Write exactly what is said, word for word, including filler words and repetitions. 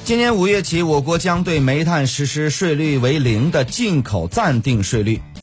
今年五月起，我国将对煤炭实施税率为零的进口暂定税率。